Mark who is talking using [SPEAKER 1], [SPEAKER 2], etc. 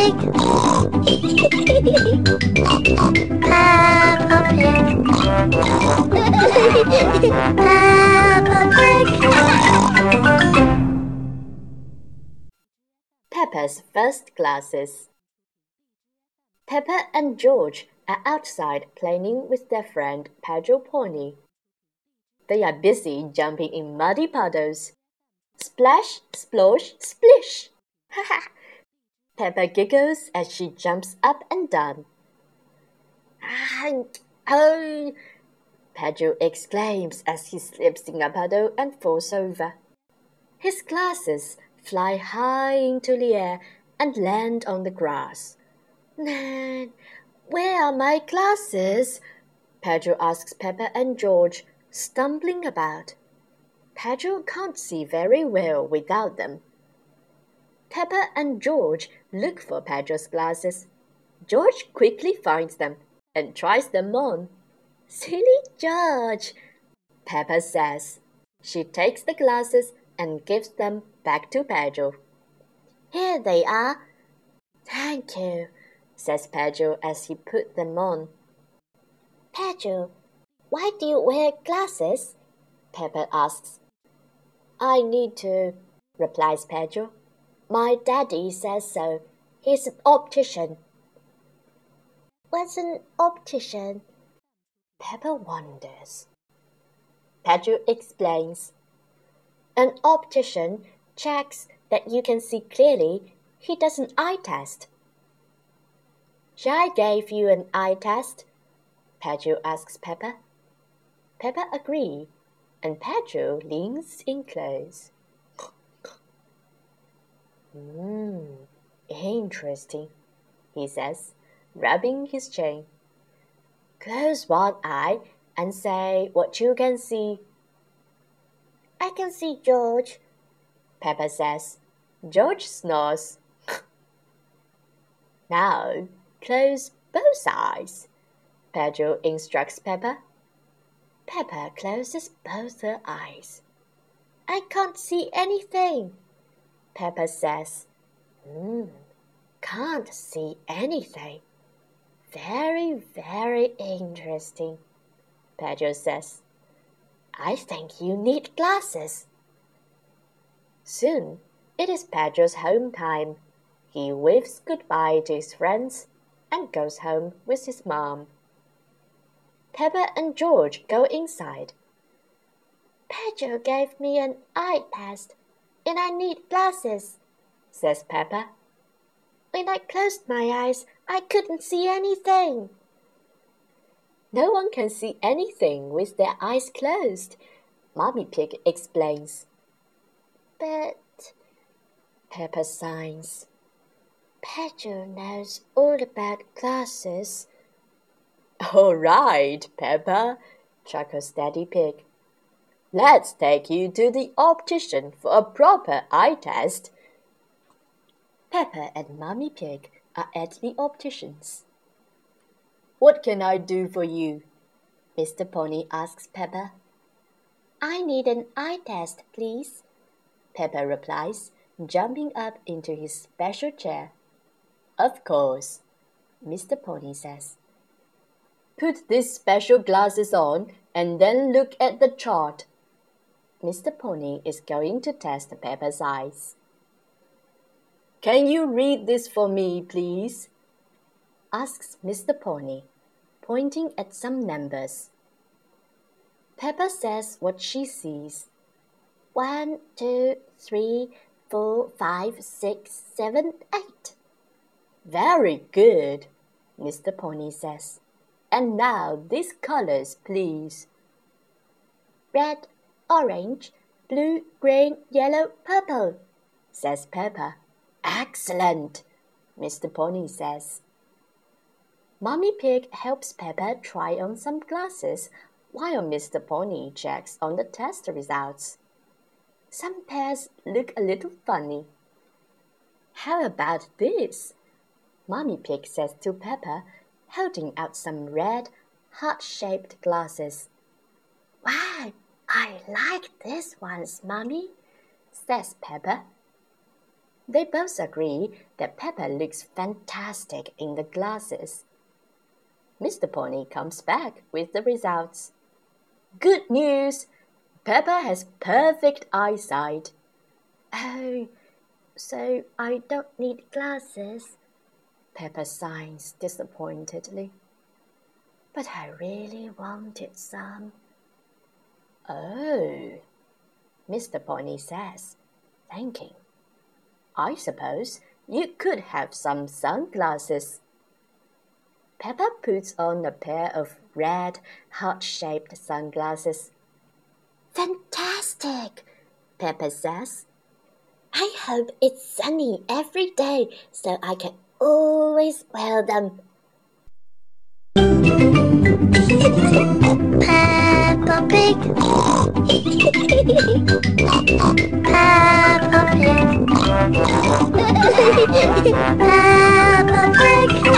[SPEAKER 1] Pig. Peppa Pig. Peppa Pig.
[SPEAKER 2] Peppa's first glasses. Peppa and George are outside playing with their friend Pedro Pony. They are busy jumping in muddy puddles. Splash, splosh, splish! Peppa giggles as she jumps up and down. Oh! Pedro exclaims as he slips in a puddle and falls over. His glasses fly high into the air and land on the grass. Nan, where are my glasses? Pedro asks Peppa and George, stumbling about. Pedro can't see very well without them. Peppa and George look for Pedro's glasses. George quickly finds them and tries them on. Silly George, Peppa says. She takes the glasses and gives them back to Pedro. Here they are. Thank you, says Pedro as he put them on. Pedro, why do you wear glasses? Peppa asks. I need to, replies Pedro. My daddy says so. He's an optician. What's an optician? Peppa wonders. Pedro explains. An optician checks that you can see clearly. He does an eye test. Shall I give you an eye test? Pedro asks Peppa. Peppa agrees, and Pedro leans in close. Interesting, he says, rubbing his chin. Close one eye and say what you can see. I can see George, Peppa says. George snores. Now, close both eyes, Pedro instructs Peppa. Peppa closes both her eyes. I can't see anything, Peppa says. Can't see anything. Very, very interesting, Pedro says. I think you need glasses. Soon, it is Pedro's home time. He waves goodbye to his friends and goes home with his mom. Peppa and George go inside. Pedro gave me an eye test, and I need glasses, says Peppa. When I closed my eyes, I couldn't see anything. No one can see anything with their eyes closed, Mommy Pig explains. But, Peppa sighs, Pedro knows all about glasses. All right, Peppa, chuckles Daddy Pig. Let's take you to the optician for a proper eye test. Peppa and Mommy Pig are at the optician's. What can I do for you? Mr. Pony asks Peppa. I need an eye test, please, Peppa replies, jumping up into his special chair. Of course, Mr. Pony says. Put these special glasses on and then look at the chart. Mr. Pony is going to test Peppa's eyes. Can you read this for me, please? Asks Mr. Pony, pointing at some numbers. Peppa says what she sees. 1, 2, 3, 4, 5, 6, 7, 8. Very good, Mr. Pony says. And now these colors, please. Red, orange, blue, green, yellow, purple, says Peppa. Excellent, Mr. Pony says. Mommy Pig helps Peppa try on some glasses while Mr. Pony checks on the test results. Some pairs look a little funny. How about this? Mommy Pig says to Peppa, holding out some red, heart-shaped glasses. Wow, I like these ones, Mommy, says Peppa. They both agree that Peppa looks fantastic in the glasses. Mr. Pony comes back with the results. Good news! Peppa has perfect eyesight. Oh, so I don't need glasses? Peppa sighs disappointedly. But I really wanted some. Oh, Mr. Pony says, thinking. I suppose you could have some sunglasses. Peppa puts on a pair of red, heart-shaped sunglasses. Fantastic, Peppa says. I hope it's sunny every day so I can always wear them.
[SPEAKER 3] Peppa Pig. Peppa Pig. Peppa Pig.